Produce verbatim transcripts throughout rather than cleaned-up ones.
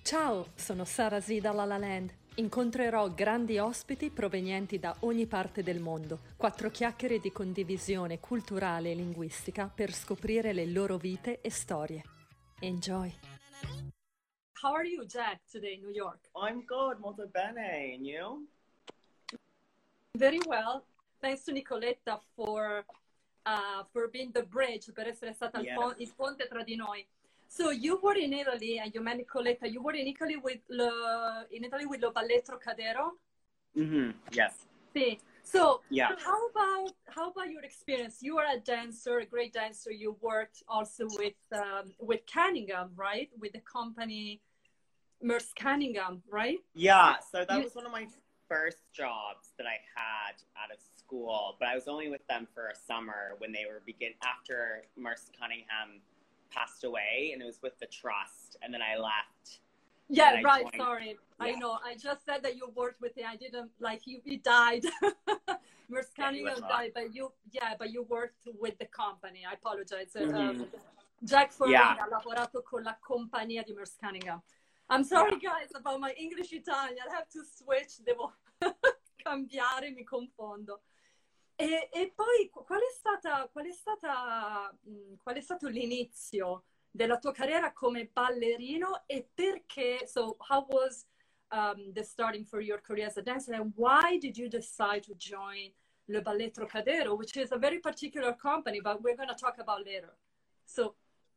Ciao, sono Sara Z da La La Land. Incontrerò grandi ospiti provenienti da ogni parte del mondo. Quattro chiacchiere di condivisione culturale e linguistica per scoprire le loro vite e storie. Enjoy! How are you, Jack, today in New York? I'm good, molto bene. And you? Very well. Thanks to Nicoletta for, uh, for being the bridge, per essere stata Yes. il, pon- il ponte tra di noi. So you were in Italy, and you met Nicoletta. You were in Italy with le, in Italy with Lo Ballet Trocadero. Mm-hmm. Yes. See. So Yeah. how about how about your experience? You are a dancer, a great dancer. You worked also with um, with Cunningham, right? With the company Merce Cunningham, right? Yeah. So that You- was one of my first jobs that I had out of school, but I was only with them for a summer when they were begin after Merce Cunningham passed away, and it was with the trust, and then I left. Yeah, And I right. joined- Sorry, I Yeah. know. I just said that you worked with him. I didn't like he, he died. Merce Yeah, he was Cunningham hot. died, but you, yeah, but you worked with the company. I apologize. Uh, Mhm. Jack Ferrari Yeah. ha lavorato con la compagnia di Merce Cunningham. I'm sorry, guys, about my English Italian. I have to switch. Devo cambiare, mi confondo. E, e poi qual è stata, qual è stata, mh, qual è stato l'inizio della tua carriera come ballerino e perché? So how was um, the starting for your career as a dancer, and why did you decide to join Le Ballet Trocadero, which is a very particular company, but we're going to talk about later. So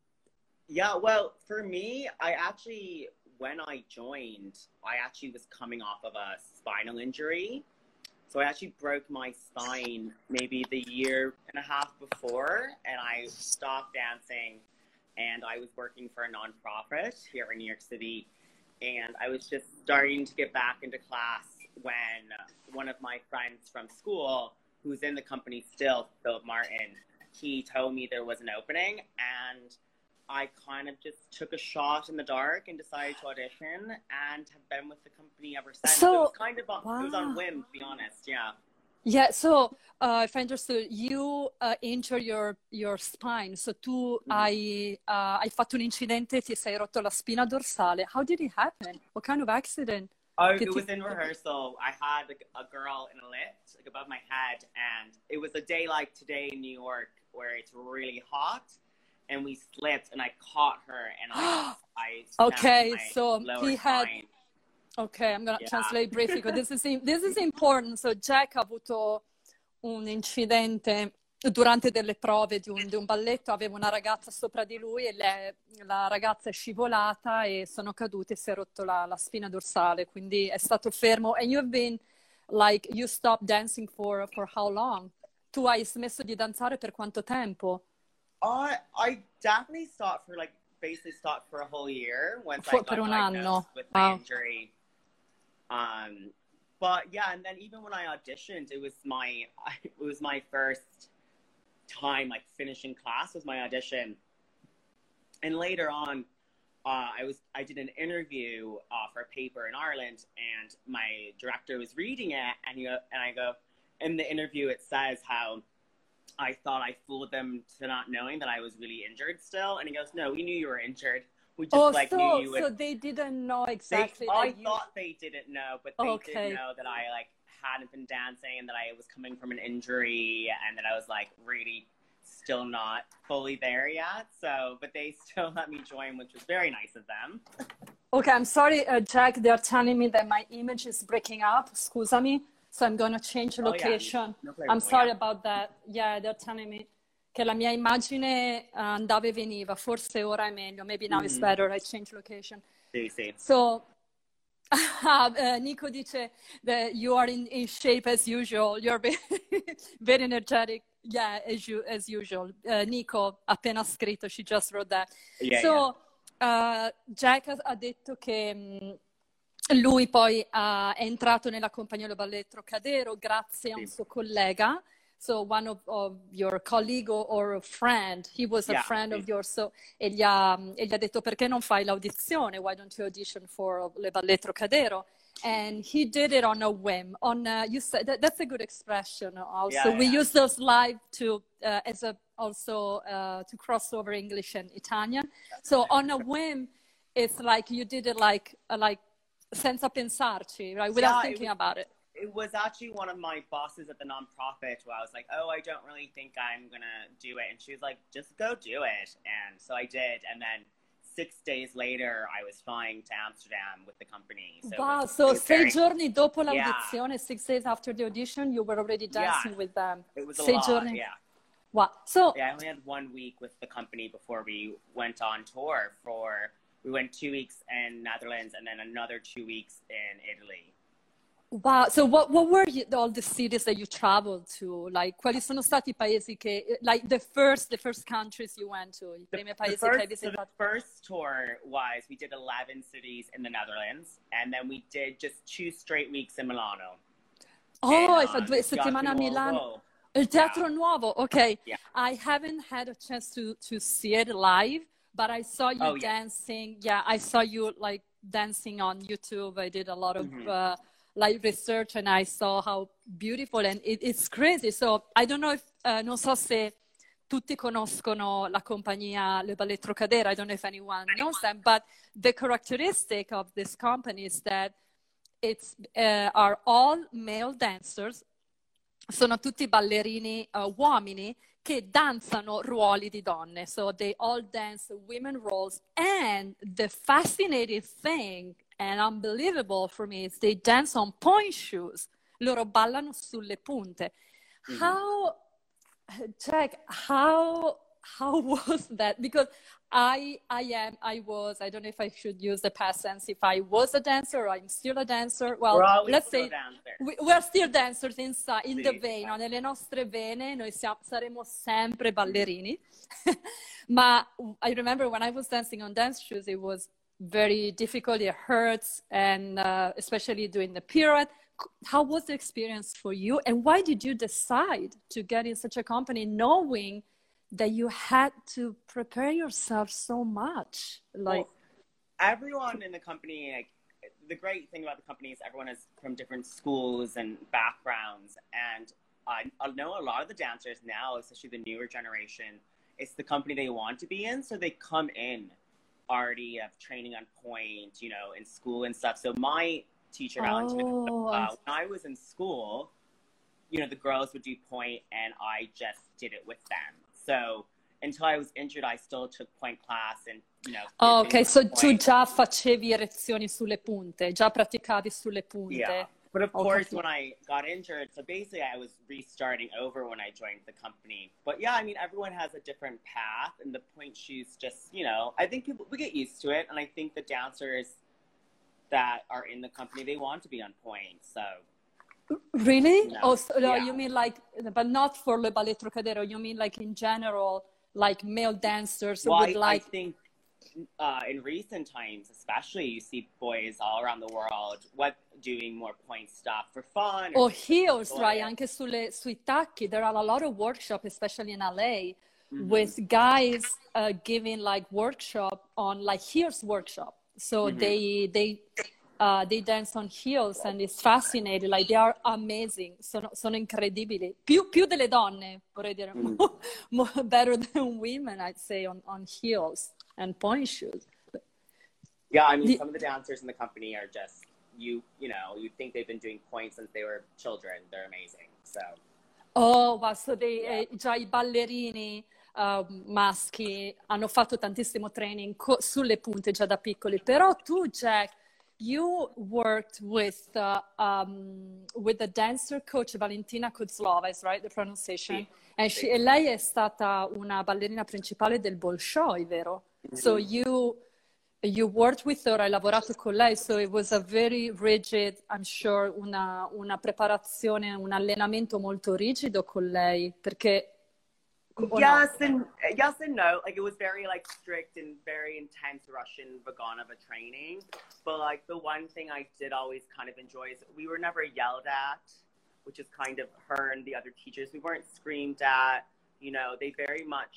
Yeah, well, for me, I actually, when I joined, I actually was coming off of a spinal injury. So I actually broke my spine maybe the year and a half before, and I stopped dancing, and I was working for a nonprofit here in New York City, and I was just starting to get back into class when one of my friends from school, who's in the company still, Philip Martin, he told me there was an opening, and I kind of just took a shot in the dark and decided to audition, and have been with the company ever since. So- it was kind of on, it was on wow. whim, to be honest. Yeah. yeah, so uh, if I understood, you uh, injured your, your spine. So tu hai, uh, hai fatto un incidente, ti sei rotto la spina dorsale. How did it happen? What kind of accident? Oh, Che it ti- was in rehearsal. I had like, a girl in a lift, like above my head, and it was a day like today in New York where it's really hot, and we slipped, and I caught her, and I, I snapped Okay, my so lower he had- spine. Okay, I'm going to Yeah. translate briefly because this is, this is important. So Jack ha avuto un incidente durante delle prove di un, di un balletto, aveva una ragazza sopra di lui e le- la ragazza è scivolata e sono caduti e si è rotto la, la spina dorsale, quindi è stato fermo. And you've been, like, you stopped dancing for, for how long? Tu hai smesso di danzare per quanto tempo? I I definitely stopped for like basically stopped for a whole year once For- I got per un diagnosed anno. with my Wow. injury. Um, but yeah, and then even when I auditioned, it was my it was my first time like finishing class was my audition, and later on, uh, I was I did an interview uh, for a paper in Ireland, and my director was reading it, and you and I go in the interview it says how I thought I fooled them to not knowing that I was really injured still. And he goes, no, we knew you were injured. We just Oh, like so, knew you would. so they didn't know They, exactly I that you... thought they didn't know, but they Okay. did know that I like hadn't been dancing and that I was coming from an injury and that I was like really still not fully there yet. So, but they still let me join, which was very nice of them. Okay, I'm sorry, uh, Jack, they're telling me that my image is breaking up. Scusami. So I'm going to change Oh, yeah, location. no problem, I'm sorry yeah. about that. Yeah, they're telling me che la mia immagine uh, andava e veniva. Forse ora è meglio. Maybe now it's Mhm. better. I change location. Sì, sì. So, uh, Nico dice that you are in, in shape as usual. You're very, very energetic. Yeah, as, you, as usual. Uh, Nico, appena scritto, she just wrote that. Yeah, so, uh, Jack ha, ha detto che mh, lui poi uh, è entrato nella compagnia del ballet Trocadero grazie a un Sì. suo collega. So one of, of your colleague or, or a friend, he was a Yeah, friend sì. of yours, so, e, gli ha, e gli ha detto perché non fai l'audizione, why don't you audition for Le Ballet Trocadero? And he did it on a whim. On uh, you said that, that's a good expression. Also, Yeah, we yeah. use those live to uh, as a also uh, to cross over English and Italian. So on a whim, it's like you did it like, uh, like senza pensarci, right? Without Yeah, thinking it was, about it. it was actually one of my bosses at the nonprofit where I was like, oh, I don't really think I'm going to do it. And she was like, just go do it. And so I did. And then six days later, I was flying to Amsterdam with the company. So Wow, was, so sei very, giorni dopo yeah. l'audizione, six days after the audition, you were already dancing yeah, with them. It was a sei lot, giorni. yeah. Wow. So yeah, I only had one week with the company before we went on tour for, we went two weeks in Netherlands and then another two weeks in Italy. wow, so what, what were you, all the cities that you traveled to? Like, quali sono stati i paesi che, like the first, the first countries you went to? I primi The, paesi the, che hai first, so visitato? the first tour was, we did eleven cities in the Netherlands, and then we did just two straight weeks in Milano. Oh, and, hai fatto uh, due settimane a Milano. Nuovo. Il Teatro Yeah. Nuovo, okay. Yeah. I haven't had a chance to, to see it live, but I saw you Oh, yeah. dancing. Yeah, I saw you like dancing on YouTube. I did a lot of Mhm. uh, like research and I saw how beautiful and it, it's crazy. So I don't know if, uh, non so se tutti conoscono la compagnia Le Ballet Trocadero. I don't know if anyone knows them, but the characteristic of this company is that it's uh, are all male dancers. Sono tutti ballerini uh, uomini che danzano ruoli di donne. So they all dance women roles. And the fascinating thing and unbelievable for me is they dance on point shoes. Loro ballano sulle punte. Mhm. How, Jack, how, how was that? Because I, I am, I was, I don't know if I should use the past tense, if I was a dancer or I'm still a dancer. Well, We're always let's still say dancers. we, we're still dancers inside, in Sì, the vein, no? esatto. Nelle nostre vene noi siamo, saremo sempre ballerini. Ma I remember when I was dancing on dance shoes, it was very difficult, it hurts, and uh, especially doing the pirouette. How was the experience for you? And why did you decide to get in such a company knowing that you had to prepare yourself so much? Like, well, everyone in the company, like, the great thing about the company is everyone is from different schools and backgrounds. And I, I know a lot of the dancers now, especially the newer generation, it's the company they want to be in. So they come in already of training on point, you know, in school and stuff. So my teacher, Valentina, oh, uh, when I was in school, you know, the girls would do point and I just did it with them. So until I was injured, I still took point class and, you know. oh, ok, so point. tu già facevi erezioni sulle punte, già praticavi sulle punte. Yeah, but of Ho course, capito. when I got injured, so basically I was restarting over when I joined the company. But yeah, I mean, everyone has a different path, and the point shoes just, you know, I think people, we get used to it, and I think the dancers that are in the company, they want to be on point, so. Really? No. Oh, so, no, Yeah. you mean like, but not for Le Ballet Trocadero, you mean like in general, like male dancers Well, would I, like... I think uh, in recent times, especially, you see boys all around the world what doing more point stuff for fun. Or heels, enjoy right? it. Anche sulle, sui tacchi, there are a lot of workshops, especially in L A, Mhm. with guys uh, giving like workshop on like heels workshop. So Mhm. they they uh, they dance on heels and it's fascinating. Like they are amazing. Sono, sono incredibili. Più, più delle donne, vorrei dire. Mhm. More, more better than women, I'd say, on, on heels and point shoes. Yeah, I mean, The- some of the dancers in the company are just, you you know, you think they've been doing points since they were children. They're amazing, so. Oh, ma so dei, Yeah. eh, già i ballerini uh, maschi hanno fatto tantissimo training co- sulle punte già da piccoli, però tu, Jack, you worked with uh, um, with the dancer coach Valentina Kozlova, is right the pronunciation? Sì. And she, Sì. e lei è stata una ballerina principale del Bolshoi, vero? So Mhm. you you worked with her, hai lavorato con lei, so it was a very rigid, I'm sure, una, una preparazione, un allenamento molto rigido con lei, perché... o no? Yes and yes and no. Like, it was very like strict and very intense Russian Vaganova training. But like the one thing I did always kind of enjoy is we were never yelled at, which is kind of her and the other teachers. We weren't screamed at. You know, they very much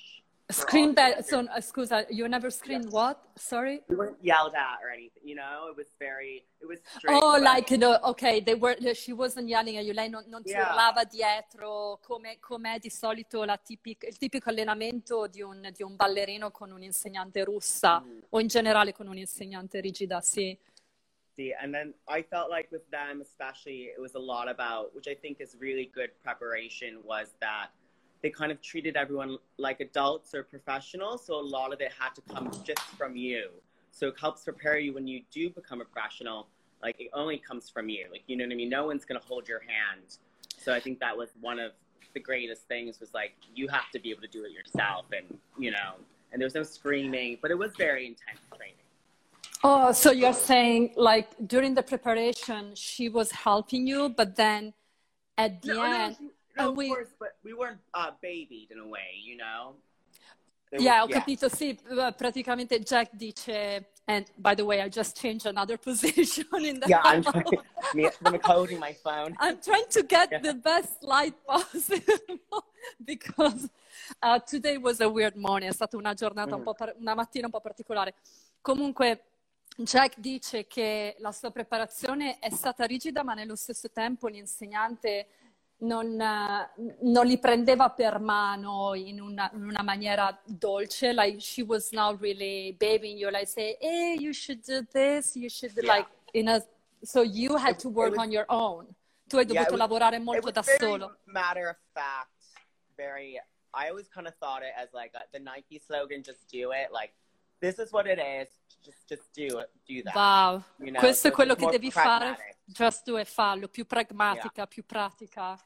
for all Scream the that, so, genders. uh, scusa, you never screamed what? Sorry? We weren't yelled at or anything, you know? It was very, it was strict, Oh, but like, no, ok, they were, she wasn't yelling at you, lei non, non ti yeah. urlava dietro, come com'è di solito la tipic- il tipico allenamento di un, di un ballerino con un'insegnante russa, Mm. o in generale con un'insegnante rigida, sì. See, and then I felt like with them especially, it was a lot about, which I think is really good preparation, was that they kind of treated everyone like adults or professionals, so a lot of it had to come just from you. So it helps prepare you when you do become a professional. Like, it only comes from you. Like, you know what I mean? No one's going to hold your hand. So I think that was one of the greatest things, was like, you have to be able to do it yourself. And, you know, and there was no screaming, but it was very intense training. Oh, so you're saying, like, during the preparation, she was helping you, but then at the No, end... no, no, and of we, course, but we weren't uh, babied in a way, you know? It yeah, ho was, yeah. capito, sì, eh, praticamente Jack dice, and by the way, I just changed another position in the Yeah, I'm house. trying, me, I'm coding my phone. I'm trying to get Yeah. the best light possible because uh, today was a weird morning, è stata una giornata un Mm. po' par- una mattina un po' particolare. Comunque Jack dice che la sua preparazione è stata rigida, ma nello stesso tempo l'insegnante non, eh, non li prendeva per mano in una, in una maniera dolce, like she was not really babying you, like say, hey, you should do this, you should Yeah. like, in a, so you had It- to it work was- on your own. Tu hai Yeah, it dovuto was- lavorare It molto was da very solo. matter of fact, very, I always kind of thought it as like a, the Nike slogan, just do it. Like, this is what it is, just, just do it, do that. Wow, You know? questo So è quello it's che more devi pragmatic. fare, just do e fallo, più pragmatica, più pratica.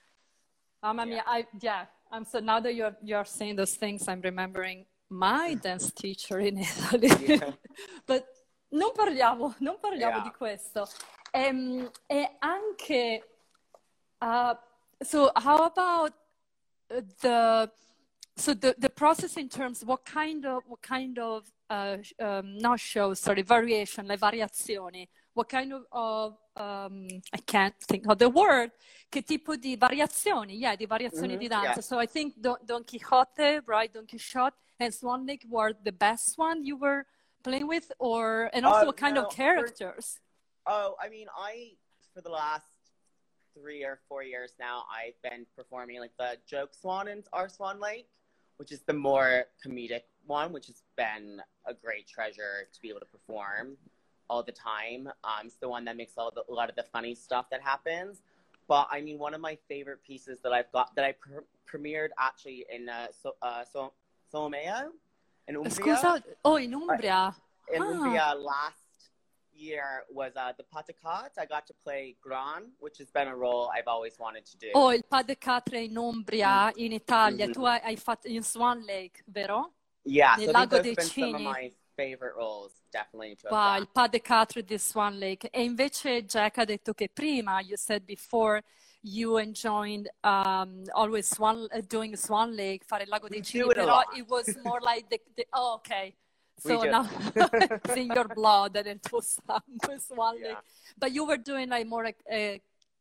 Mamma mia, I, yeah, I'm so now that you're, you're saying those things, I'm remembering my dance teacher in Italy. Yeah. But non parliamo, non parliamo Yeah. di questo. Ehm, e anche, uh, so how about the, so the, the process in terms, what kind of, what kind of, uh, um, not shows, sorry, variation, le variazioni, what kind of, of um, I can't think of the word, che tipo di variazioni, yeah, di variazioni Mhm, di danza. yeah. So I think Don, Don Quixote, right, Don Quixote and Swan Lake were the best one you were playing with, or, and also Uh, what kind no, of for- characters? Oh, I mean, I, for the last three or four years now, I've been performing like the Joke Swan in our Swan Lake, which is the more comedic one, which has been a great treasure to be able to perform all the time. Um, it's the one that makes all the, a lot of the funny stuff that happens. But I mean, one of my favorite pieces that I've got, that I pre- premiered actually in uh, so, uh, so, Solomeo, in Umbria. Scusa, oh, in Umbria. In Ah. Umbria last year was uh, the Patakat. I got to play Gran, which has been a role I've always wanted to do. Oh, il Pas de Quatre in Umbria, in Italia. Mhm. Tu hai, hai fatto in Swan Lake, vero? Yeah, Nel so I think Lago those dei have been some of Cigni. my favorite roles, definitely. To have Wow, done. il Pas de Quatre di Swan Lake. E invece Jack ha detto che prima, you said before, you enjoyed um, always Swan, uh, doing Swan Lake, fare il Lago We dei do Cigni, it a però lot. it was more like the, the oh, okay. We So do. now it's in your blood and it was um, Swan Lake. Yeah. But you were doing like more a, a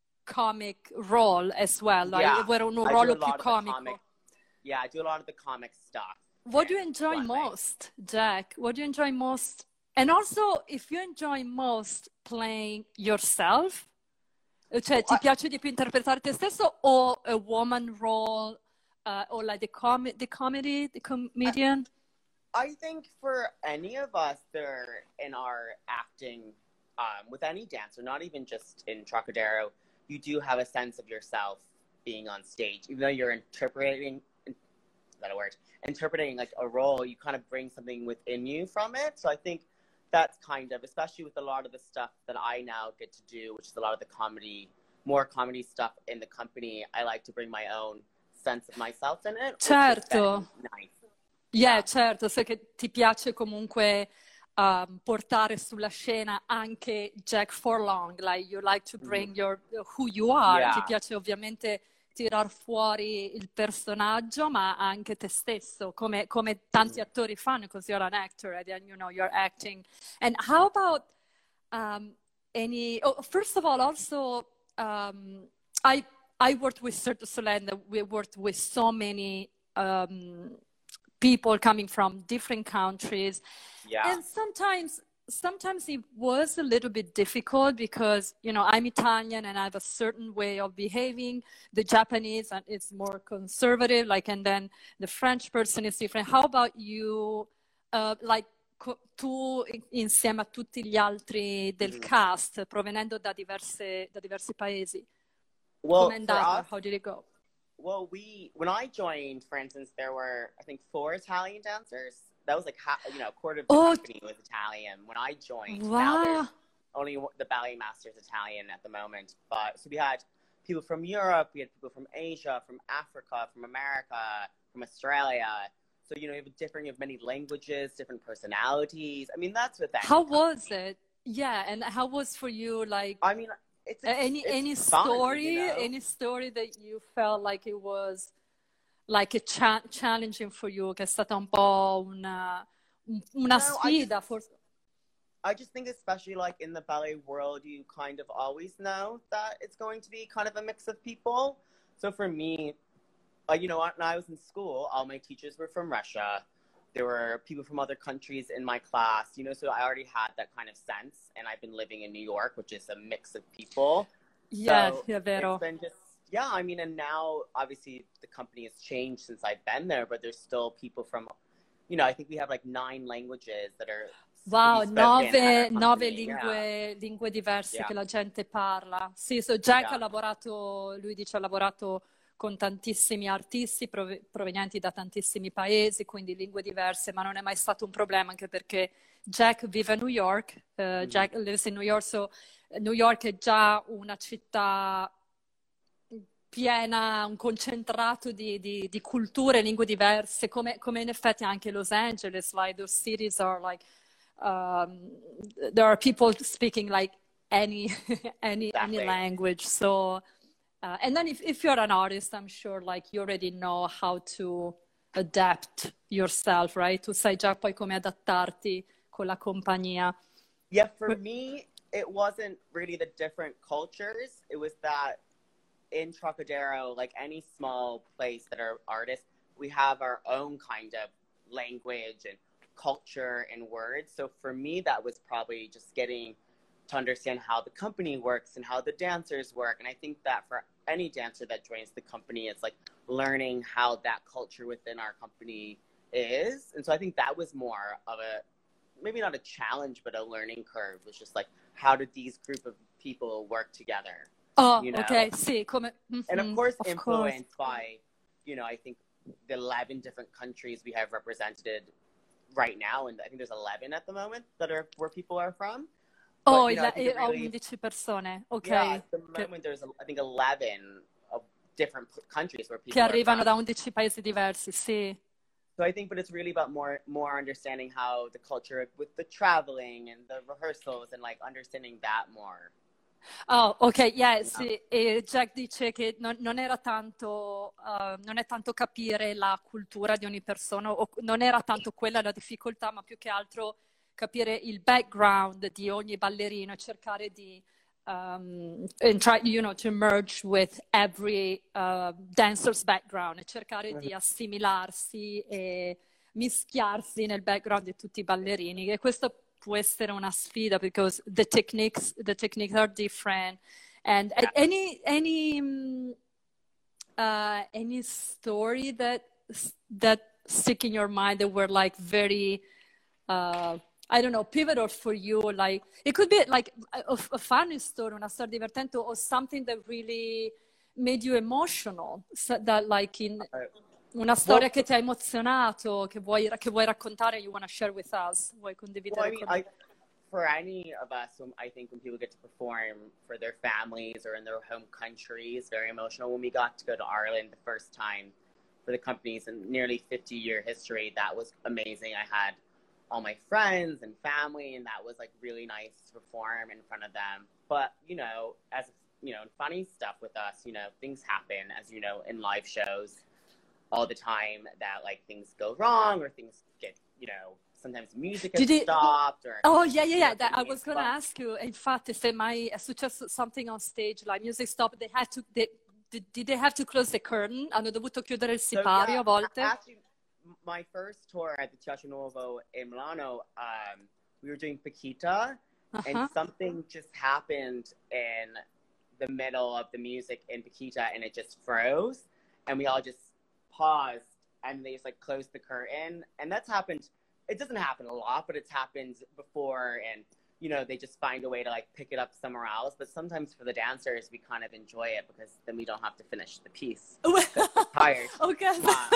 comic role as well, like Yeah, era un I do a ruolo più lot of the comico. comic. Yeah, I do a lot of the comic stuff. What do you in enjoy Swan Lake. most, Jack? What do you enjoy most? And also, if you enjoy most playing yourself, cioè ti I- piace di più interpretare te stesso o a woman role, uh, or like the, com the comedy, the comedian? I think for any of us there in our acting, um, with any dancer, not even just in Trocadero, you do have a sense of yourself being on stage. Even though you're interpreting, is that a word? Interpreting like a role, you kind of bring something within you from it. So I think that's kind of, especially with a lot of the stuff that I now get to do, which is a lot of the comedy, more comedy stuff in the company, I like to bring my own sense of myself in it. Which has Certo. been nice. Yeah, certo, so che ti piace comunque um, portare sulla scena anche Jack Forlong, like you like to bring your, who you are, Yeah. ti piace ovviamente tirar fuori il personaggio, ma anche te stesso, come, come tanti attori fanno, because you're an actor and then, you know, you're acting. And how about um, any, oh, first of all, also, um, I, I worked with Cirque du Soleil, and we worked with so many um, people coming from different countries. Yeah. And sometimes, sometimes it was a little bit difficult because, you know, I'm Italian and I have a certain way of behaving. The Japanese and it's more conservative, like, and then the French person is different. How about you, uh, like, tu insieme a tutti gli altri del Mhm. cast, provenendo da diverse, da diversi paesi? Well, Com'è for andata? us, How did it go? well, we when I joined, for instance, there were I think four Italian dancers. That was like half, you know, a quarter of the Oh, company was Italian when I joined. Now wow. there's only one- the ballet master is Italian at the moment. But so we had people from Europe, we had people from Asia, from Africa, from America, from Australia. So you know, you have different, you have many languages, different personalities. I mean, that's with any How was company. it? Yeah, and how was for you, like, I mean, it's a- it's, any it's any fun, story, you know. any story that you felt like it was like a cha- challenging for you, che è stata un po' una, un- una No, I just sfida, forse? I just think especially like in the ballet world, you kind of always know that it's going to be kind of a mix of people. So for me, uh, you know, when I was in school, all my teachers were from Russia. There were people from other countries in my class, you know, so I already had that kind of sense. And I've been living in New York, which is a mix of people. Yeah, So è vero. it's been just, yeah, I mean, and now obviously the company has changed since I've been there, but there's still people from, you know, I think we have like nine languages that are to Wow, be spoken at our nove, nove company. Yeah, lingue, lingue diverse yeah, che la gente parla. Sì, so Jack ha yeah. lavorato, lui dice ha lavorato con tantissimi artisti prove- provenienti da tantissimi paesi, quindi lingue diverse, ma non è mai stato un problema anche perché Jack vive a New York, uh, Mhm. Jack lives in New York, so New York è già una città piena, un concentrato di, di, di culture e lingue diverse, come, come in effetti anche Los Angeles, like those cities are like, um, there are people speaking like any, any, any Exactly. language. So, uh, and then if, if you're an artist, I'm sure like you already know how to adapt yourself, right? Tu sai già poi come adattarti con la compagnia. Yeah, for me, it wasn't really the different cultures. It was that in Trocadero, like any small place that are artists, we have our own kind of language and culture and words. So for me, that was probably just getting to understand how the company works and how the dancers work. And I think that for any dancer that joins the company, it's like learning how that culture within our company is. And so I think that was more of a, maybe not a challenge, but a learning curve. It was just like, how did these group of people work together? Oh, You know? okay, sì, come... And of Mhm, course, of influenced course. by, you know, I think the eleven different countries we have represented right now. And I think there's eleven at the moment that are where people are from. But, Oh, you know, I il- think it eh, ho really, undici persone, ok, yeah, at the che, moment there's, I think, eleven of different p- countries where che people are arrivano from. da undici paesi diversi, sì. So I think, but it's really about more, more understanding how the culture with the traveling and the rehearsals and like understanding that more. Oh, ok, yeah, Yeah. sì. E Jack dice che non, non era tanto, uh, non è tanto capire la cultura di ogni persona, o non era tanto quella la difficoltà, ma più che altro capire il background di ogni ballerino e cercare di um, and try, you know, to merge with every uh, dancer's background e cercare di assimilarsi e mischiarsi nel background di tutti i ballerini. E questo può essere una sfida because the techniques, the techniques are different. And Yeah. any, any, mm, uh, any story that, that stick in your mind that were like very, uh, I don't know, pivotal for you? Like, it could be like a, a funny story, una storia divertente, or something that really made you emotional. So that like in, Uh, una storia well, che ti ha emozionato, che vuoi, che vuoi raccontare, you want to share with us, vuoi well, condividere I mean, con I, for any of us, um, I think when people get to perform for their families or in their home country, it's very emotional. When we got to go to Ireland the first time for the company's nearly fifty year history, that was amazing. I had all my friends and family, and that was like really nice to perform in front of them. But, you know, as, you know, funny stuff with us, you know, things happen, as you know, in live shows all the time, that like things go wrong or things get, you know, sometimes music Did gets it- stopped or Oh, yeah, yeah, yeah. or That, I things, was going to but- ask you, infatti, se mai è successo something on stage, like music stop, they had to, they, did, did they have to close the curtain? Hanno dovuto chiudere il So, sipario yeah, a volte? actually, my first tour at the Teatro Nuovo in Milano, um, we were doing Paquita, uh-huh. and something just happened in the middle of the music in Paquita, and it just froze, and we all just paused, and they just like closed the curtain, and that's happened. It doesn't happen a lot, but it's happened before, and you know, they just find a way to like pick it up somewhere else. But sometimes for the dancers, we kind of enjoy it because then we don't have to finish the piece. We're tired. Okay. Uh,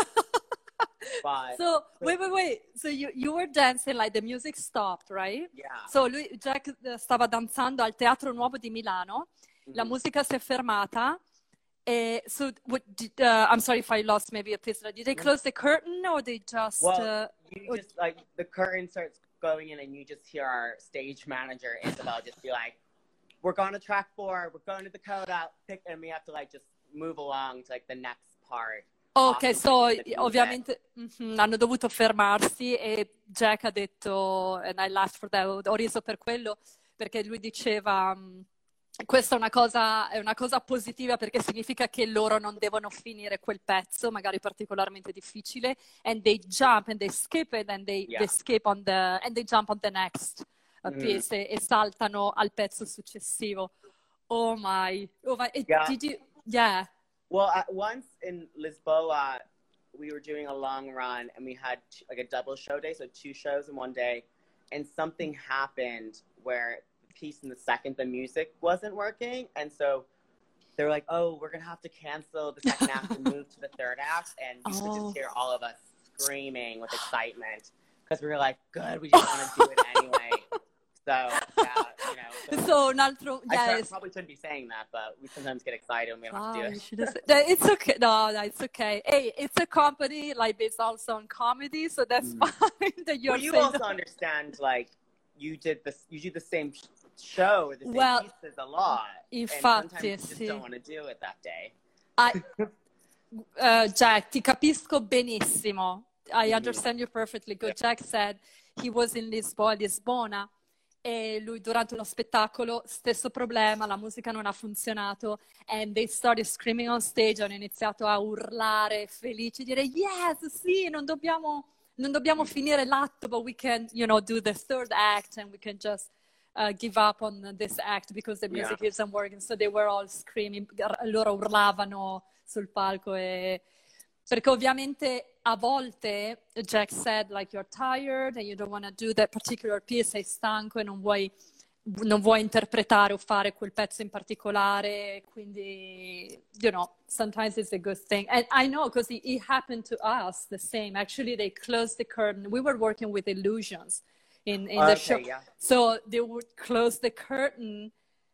but, so wait, wait, wait. So you, you were dancing, like the music stopped, right? Yeah. So lui, Jack stava danzando al Teatro Nuovo di Milano. Mm-hmm. La musica si è fermata. Uh, so, what did, uh, I'm sorry if I lost maybe a piece. Did they close the curtain or they just? Well, uh, you just like the curtain starts going in, and you just hear our stage manager Isabel just be like, "We're going to track four. We're going to the coda." Pick, and we have to like just move along to like the next part. Ok, so ovviamente mm-hmm, hanno dovuto fermarsi e Jack ha detto, and I laughed for that, ho riso per quello perché lui diceva. Um, Questa è una cosa, è una cosa positiva perché significa che loro non devono finire quel pezzo, magari particolarmente difficile, and they jump and they skip it and they, yeah. they skip on the and they jump on the next uh, mm. piece e, e saltano al pezzo successivo. Oh my! Oh my! It, yeah. Did you? Yeah. Well, at once in Lisboa, we were doing a long run and we had t- like a double show day, so two shows in one day, and something happened where piece in the second the music wasn't working, and so they were like, oh, we're gonna have to cancel the second act and move to the third act, and you oh. could just hear all of us screaming with excitement because we were like, good, we just want to do it anyway. So yeah, you know, so, so un altro yeah, I probably shouldn't be saying that, but we sometimes get excited when we don't wow, have to do it. It's okay. No, no, it's okay. Hey, it's a comedy, like based also on comedy, so that's mm. fine that you're well, you saying also that. understand, like you did this you do the same show or the same well, pieces a lot, infatti, and sometimes you just sì. don't want to do it that day. I, uh, Jack, ti capisco benissimo. I understand you perfectly good. Jack said he was in Lisboa, Lisbona, e lui durante uno spettacolo, stesso problema, la musica non ha funzionato, and they started screaming on stage, hanno iniziato a urlare, felici, dire yes, sì, non dobbiamo, non dobbiamo finire l'atto, but we can, you know, do the third act and we can just Uh, give up on this act because the music yeah. isn't working. So they were all screaming, loro urlavano sul palco e perché ovviamente a volte Jack said like you're tired and you don't want to do that particular piece, sei stanco e non vuoi non vuoi interpretare o fare quel pezzo in particolare, quindi you know sometimes it's a good thing. And I know because it, it happened to us the same. Actually they closed the curtain. We were working with Illusions in, in uh, the okay, show. Yeah. So they would close the curtain,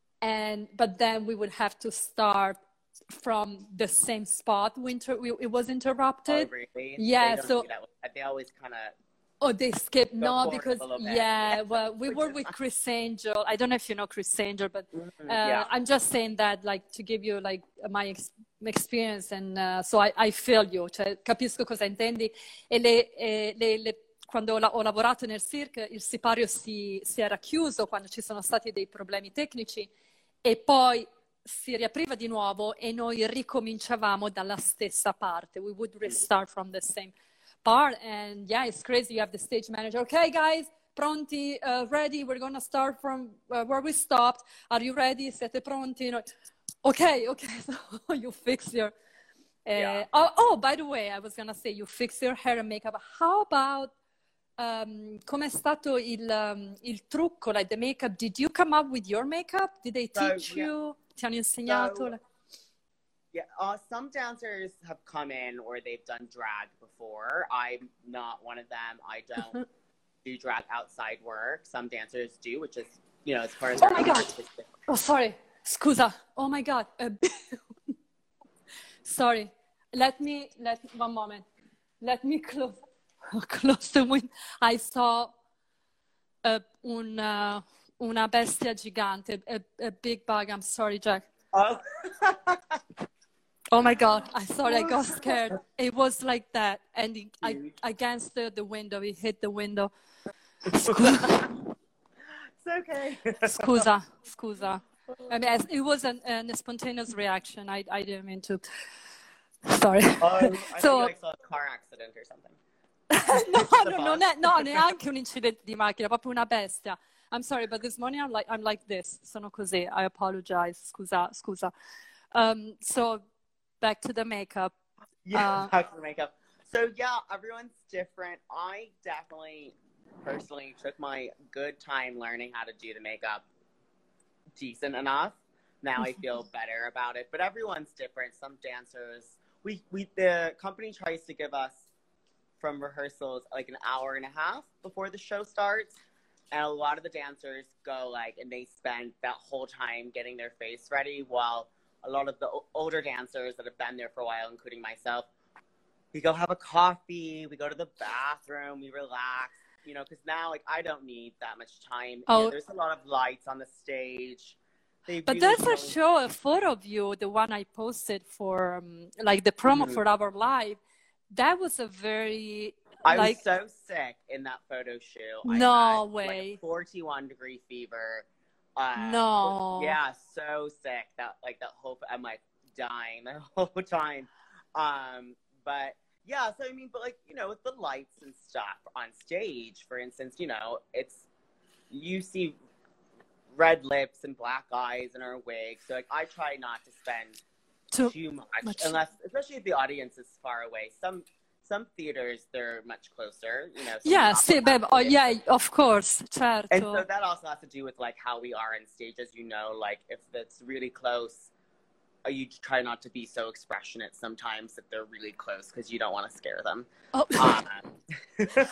and but then we would have to start from the same spot. Winter, we, it was interrupted. Oh, really? Yeah, they so... They always kind of... Oh, they skipped. No, because, yeah, well, we were with Chris Angel. I don't know if you know Chris Angel, but uh, yeah. I'm just saying that, like, to give you, like, my ex- experience. And uh, so I, I feel you, cioè, capisco cosa intendi. E le... E le, le quando ho lavorato nel cirque, il sipario si, si era chiuso quando ci sono stati dei problemi tecnici e poi si riapriva di nuovo e noi ricominciavamo dalla stessa parte. We would restart from the same part. And yeah, it's crazy. You have the stage manager. Okay, guys, pronti, uh, ready? We're going to start from uh, where we stopped. Are you ready? Siete pronti? No. Okay, okay. So you fix your... Uh, yeah. oh, oh, by the way, I was going to say, you fix your hair and makeup. How about Um, com'è stato il, um, il trucco, like the makeup? Did you come up with your makeup? Did they teach so, yeah. you? Ti hanno insegnato? So, yeah, uh, some dancers have come in or they've done drag before. I'm not one of them. I don't do drag outside work. Some dancers do, which is, you know, as far as... Oh my God. Artistic. Oh, sorry. Scusa. Oh my God. Uh, sorry. Let me, let one moment. Let me close... Close the window. I saw uh, un, uh, una bestia gigante, a, a big bug. I'm sorry, Jack. Oh. Oh my God. I sorry, I got scared. It was like that. And it, I, against the, the window, it hit the window. Scusa. It's okay. Scusa, scusa. I mean, it was an, an spontaneous reaction. I, I didn't mean to. Sorry. Um, I so, think I saw a car accident or something. no, no, non è, no, neanche un incidente di macchina, proprio una bestia. I'm sorry, but this morning I'm like, I'm like this. Sono così. I apologize. Scusa, scusa. Um, so back to the makeup. Yeah, Uh, back to the makeup. So yeah, everyone's different. I definitely, personally, took my good time learning how to do the makeup decent enough. Now I feel better about it, but everyone's different. Some dancers, we, we the company tries to give us from rehearsals like an hour and a half before the show starts, and a lot of the dancers go like, and they spend that whole time getting their face ready, while a lot of the o- older dancers that have been there for a while, including myself, we go have a coffee, we go to the bathroom, we relax, you know, because now like I don't need that much time. oh, You know, there's a lot of lights on the stage. They but really there's a don't... show, a photo of you, the one I posted for um, like the promo Mhm. for our live. That was a very I like was so sick in that photo shoot. no I had way. like a forty-one degree fever. Uh, No. Yeah, so sick that like that whole I'm like dying the whole time. Um, but yeah, so I mean, but like you know, with the lights and stuff on stage, for instance, you know, it's you see red lips and black eyes in our wig. So like I try not to spend Too too much, much. unless especially if the audience is far away. Some some theaters they're much closer, you know. some Yeah, opera sì, beh, oh, houses. yeah, of course, certo. And so that also has to do with like how we are on stage, as you know. Like if it's really close, uh, you try not to be so expressionate sometimes that they're really close because you don't want to scare them. Oh. Um,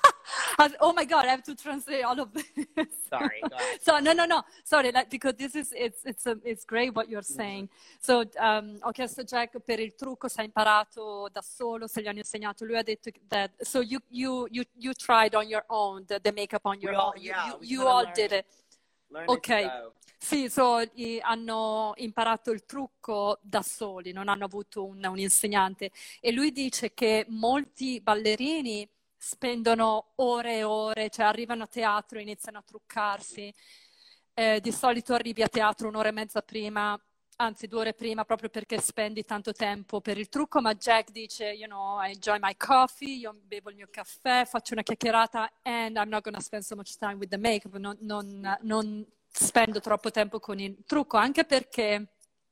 Oh my God, I have to translate all of this. Sorry, go ahead. So no, no, no, sorry, like, because this is it's it's um, it's great what you're saying. So um, ho chiesto a Jack per il trucco se ha imparato da solo, se gli hanno insegnato. Lui ha detto that so you you you you tried on your own the, the makeup on your We all- own. yeah, you we you kinda all learned- did it. Learn Ok, as you go. sì, so, i- hanno imparato il trucco da soli, non hanno avuto un, un insegnante. E lui dice che molti ballerini spendono ore e ore, cioè arrivano a teatro, iniziano a truccarsi. Eh, di solito arrivi a teatro un'ora e mezza prima, anzi due ore prima, proprio perché spendi tanto tempo per il trucco. Ma Jack dice, you know, I enjoy my coffee, io bevo il mio caffè, faccio una chiacchierata, and I'm not gonna spend so much time with the makeup. Non, non, non spendo troppo tempo con il trucco, anche perché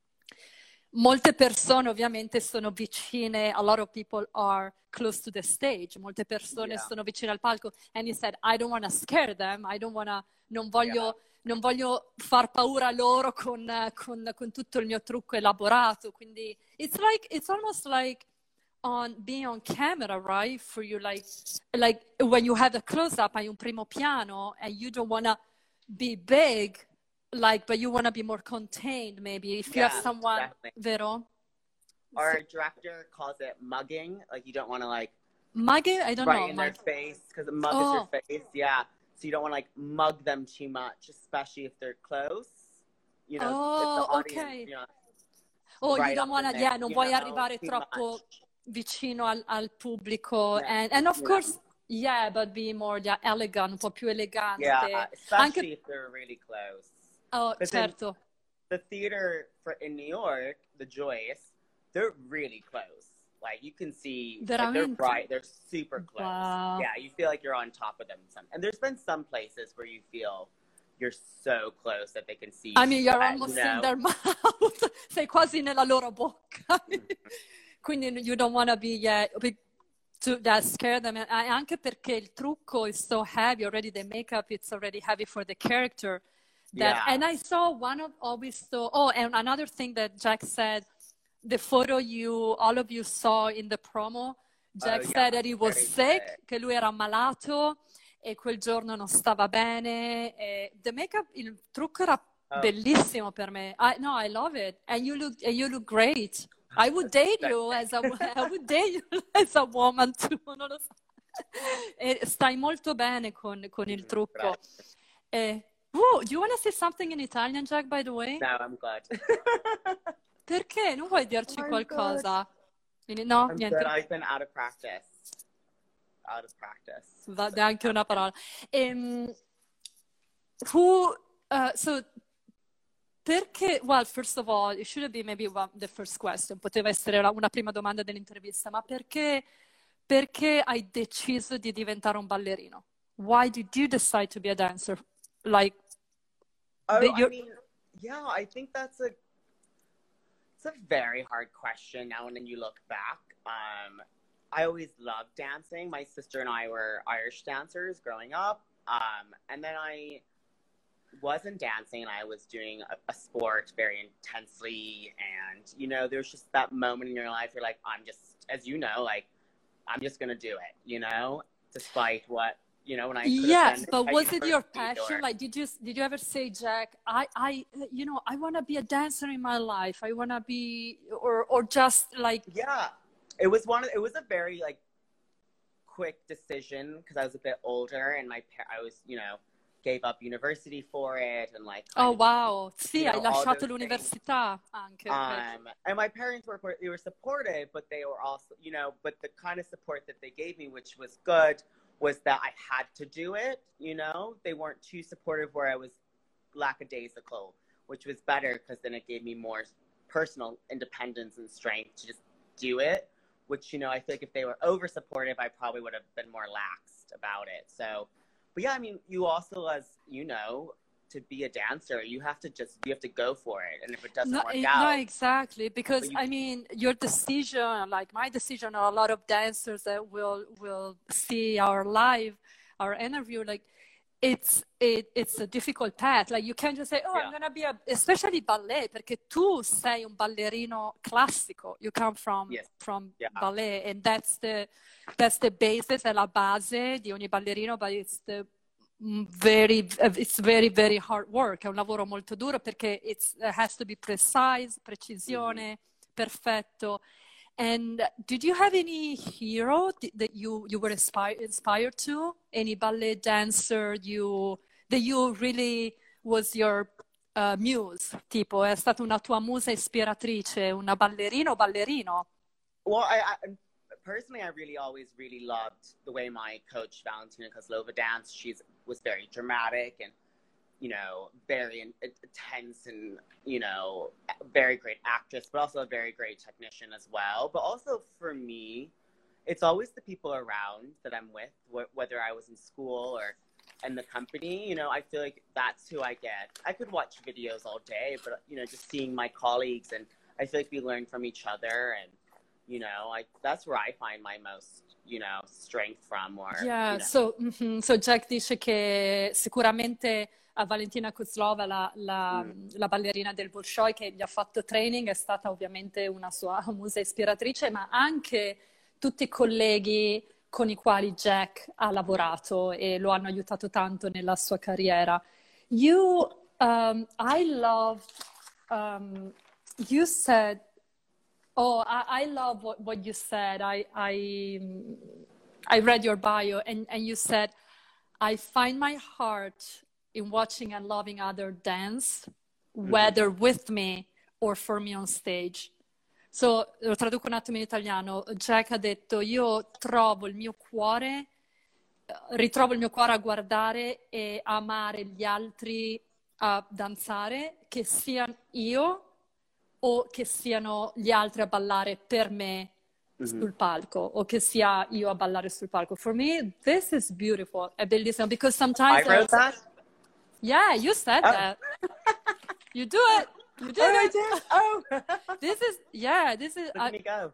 molte persone ovviamente sono vicine, a lot of people are close to the stage, molte persone Yeah. sono vicine al palco, and he said, I don't want to scare them, I don't wanna, non voglio, non voglio far paura loro con, eh, con, con tutto il mio trucco elaborato, quindi it's like, it's almost like on being on camera, right? For you, like, like when you have a close-up, hai un primo piano, and you don't wanna be big, like, but you want to be more contained, maybe. If you Yeah, have someone, definitely. vero? Our director calls it mugging. Like you don't want to like Mugging? I don't right know. in their Mug- face because a mug Oh. is your face. Yeah. So you don't want to like mug them too much, especially if they're close. You know, Oh, if the audience, okay. you know, Oh, right you don't up want to, in there, yeah, non you vuoi know, arrivare too troppo much. vicino al, al pubblico. Yeah, And, and of you course, know. yeah, but be more yeah, elegant, un po' più elegante. Yeah, especially Anche, if they're really close. oh, But then- certo. The theater for in New York, the Joyce, they're really close. Like you can see, like, they're Veramente? right, they're super close. Wow. Yeah, you feel like you're on top of them. Some, and there's been some places where you feel you're so close that they can see. I mean, you're sweat, almost you know? in their mouth. Sei quasi nella loro bocca. Quindi you don't want to be, yeah, be to that scare them. And anche perché il trucco is so heavy already, the makeup, it's already heavy for the character. That, Yeah. And I saw one of always saw, oh, and another thing that Jack said, the photo you, all of you saw in the promo, Jack Oh, yeah, said that he was very sick, sick. che lui era ammalato e quel giorno non stava bene. E the makeup, il trucco era Oh. bellissimo per me. I, no, I love it. And you look, and you look great. I would date you as a, I would date you as a woman too, non lo so. E stai molto bene con, con il trucco. Eh, oh, do you want to say something in Italian, Jack, by the way? No, I'm glad. Perché? Non vuoi dirci I'm qualcosa? No, I'm niente. good. I've been out of practice. Out of practice. Va neanche una parola. Um, who, uh, so, perché, well, first of all, it should be maybe one, the first question, poteva essere la- una prima domanda dell'intervista, ma perché, perché hai deciso di diventare un ballerino? Why did you decide to be a dancer? Like, oh, I mean, yeah, I think that's a it's a very hard question now when you look back. Um, I always loved dancing. My sister and I were Irish dancers growing up. Um, and then I wasn't dancing and I was doing a, a sport very intensely. And, you know, there's just that moment in your life, you're like, I'm just, as you know, like, I'm just going to do it, you know, despite what, you know, when I yes, but was it your passion? Or... Like, did you did you ever say, Jack, I, I you know, I want to be a dancer in my life. I want to be, or or just like. Yeah, it was one. Of, it was a very like quick decision because I was a bit older and my I was, you know, gave up university for it and like. Oh wow! Sì, hai lasciato l'università anche. Um, and my parents were they were supportive, but they were also, you know, but the kind of support that they gave me, which was good, was that I had to do it, you know? They weren't too supportive where I was lackadaisical, which was better because then it gave me more personal independence and strength to just do it, which, you know, I feel like if they were over supportive, I probably would have been more laxed about it. So, but yeah, I mean, you also, as you know, to be a dancer, you have to just, you have to go for it. And if it doesn't no, work no, out. No, exactly. Because, you, I mean, your decision, like my decision, or a lot of dancers that will, will see our live, our interview, like, it's, it, it's a difficult path. Like, you can't just say, oh, yeah. I'm going to be a, especially ballet, perché tu sei un ballerino classico. You come from, yes. from yeah. ballet. And that's the, that's the basis, è la base di ogni ballerino, but it's the, very it's very very hard work, è un lavoro molto duro perché it's, it has to be precise, precisione, mm-hmm. perfetto. And did you have any hero that you you were inspired inspired to, any ballet dancer you that you really was your uh, muse, tipo è stata una tua musa ispiratrice, una ballerina o ballerino? Well, I, I personally, I really always really loved the way my coach Valentina Kozlova danced. She's was very dramatic and, you know, very in, intense and, you know, very great actress, but also a very great technician as well. But also for me, it's always the people around that I'm with, wh- whether I was in school or in the company. You know, I feel like that's who I get. I could watch videos all day, but, you know, just seeing my colleagues, and I feel like we learn from each other, and you know, like that's where I find my most, you know, strength from. Or, yeah, you know. so, mm-hmm. so Jack dice che sicuramente a Valentina Kozlova, la, la, mm. la ballerina del Bolshoi che gli ha fatto training, è stata ovviamente una sua musa ispiratrice, ma anche tutti i colleghi con i quali Jack ha lavorato e lo hanno aiutato tanto nella sua carriera. You, um, I loved, um, you said, Oh, I, I love what, what you said. I, I, I read your bio and, and you said, I find my heart in watching and loving others dance, mm-hmm. whether with me or for me on stage. So, lo traduco un attimo in italiano. Jack ha detto, io trovo il mio cuore, ritrovo il mio cuore a guardare e amare gli altri a danzare, che siano io o che siano gli altri a ballare per me mm-hmm. sul palco, o che sia io a ballare sul palco. For me, this is beautiful. È bellissimo, because sometimes... I wrote that? Yeah, you said oh. that. You do it. You did oh, it. I did? Oh! This is, yeah, this is... Let I, me go.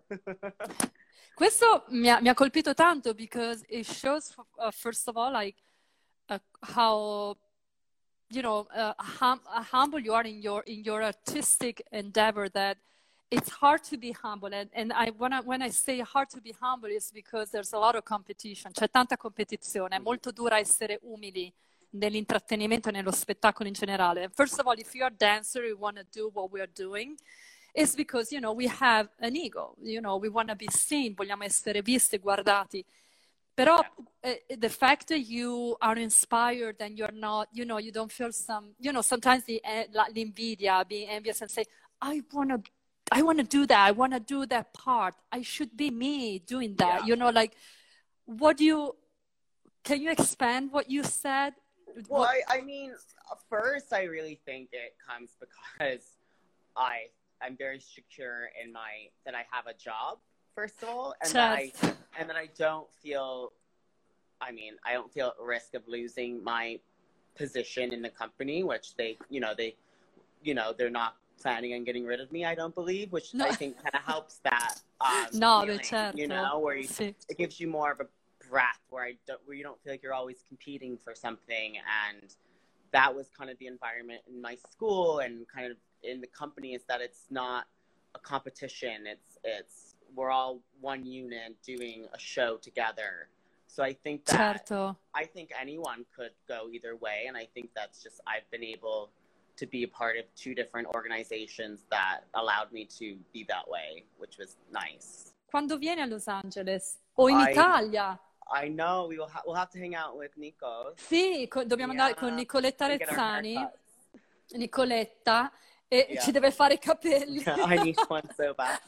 Questo mi ha, mi ha colpito tanto, because it shows, uh, first of all, like, uh, how... you know, uh, hum- humble you are in your in your artistic endeavor, that it's hard to be humble. And, and I, when, I, when I say hard to be humble, it's because there's a lot of competition. C'è tanta competizione. È molto dura essere umili nell'intrattenimento e nello spettacolo in generale. First of all, if you're a dancer, you want to do what we're doing, it's because, you know, we have an ego. You know, we want to be seen. Vogliamo essere visti, guardati. Però uh, the fact that you are inspired and you're not, you know, you don't feel some, you know, sometimes the uh, l'invidia, being envious and say, I want to, I want to do that. I want to do that part. I should be me doing that. Yeah. You know, like, what do you, can you expand what you said? Well, what, I, I mean, first, I really think it comes because I, I'm very secure in my, that I have a job. first of all, and that I Certo. and that I don't feel. I mean, I don't feel at risk of losing my position in the company, which they, you know, they, you know, they're not planning on getting rid of me. I don't believe, which No. I think kind of helps that. Um, No, feeling, beh, certo. you know, where you, Sì. it gives you more of a breath, where I don't, where you don't feel like you're always competing for something, and that was kind of the environment in my school and kind of in the company, is that it's not a competition. It's it's we're all one unit doing a show together. So I think that Certo. I think anyone could go either way, and I think that's just I've been able to be a part of two different organizations that allowed me to be that way, which was nice. Quando vieni a Los Angeles o in I- Italia? I know we will ha- we'll have to hang out with Nico. Sì, co- dobbiamo andare con Yeah. Nicoletta and get our Rezzani, haircuts. Nicoletta, e Yeah. ci deve fare i capelli. I need one so bad.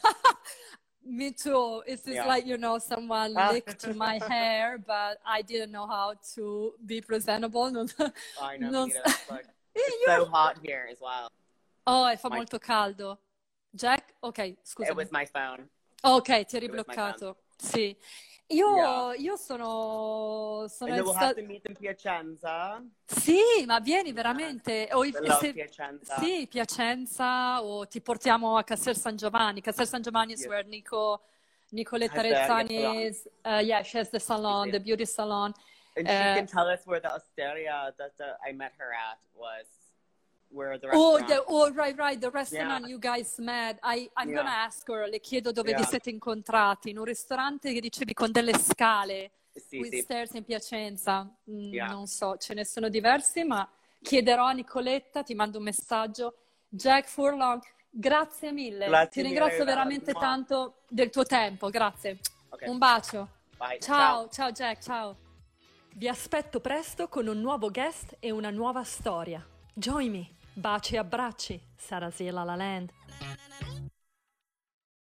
Me too. It's just Yeah. like, you know, someone Ah. licked my hair, but I didn't know how to be presentable. Non- I know. non Nita, so- it's, like, Eh, it's io- so hot here as well. Oh, e fa My- molto caldo. Jack? Ok, It scusa. was my phone. Ok, ti ho It was my ribloccato. Sì. Io, Yeah. io sono, sono And then we'll sta- have to meet in Piacenza. Sì, ma vieni veramente. O i- I love se- Piacenza. Sì, Piacenza, o ti portiamo a Castel San Giovanni. Castel San Giovanni is Yeah. where Nico, Nicoletta Has the- yes, Rezzani salon. is. Uh, yeah, she has the salon, She the did. beauty salon. And she Uh, can tell us where the osteria that the, I met her at was, where the Oh, restaurant. the, oh, right, right, the restaurant Yeah. you guys met. I, I'm Yeah. gonna ask her, le chiedo dove vi Yeah. siete incontrati. In un ristorante che dicevi con delle scale, Sì, with sì. stairs in Piacenza. Mm, Yeah. Non so, ce ne sono diversi, ma chiederò a Nicoletta, ti mando un messaggio. Jack Furlong, grazie mille. Grazie Ti mille, ringrazio Eva. veramente Mua. tanto del tuo tempo, grazie. Ok. Un bacio. Bye. Ciao, ciao Jack, ciao. Vi aspetto presto con un nuovo guest e una nuova storia. Join me. Baci e abbracci. Sarasiela La Land.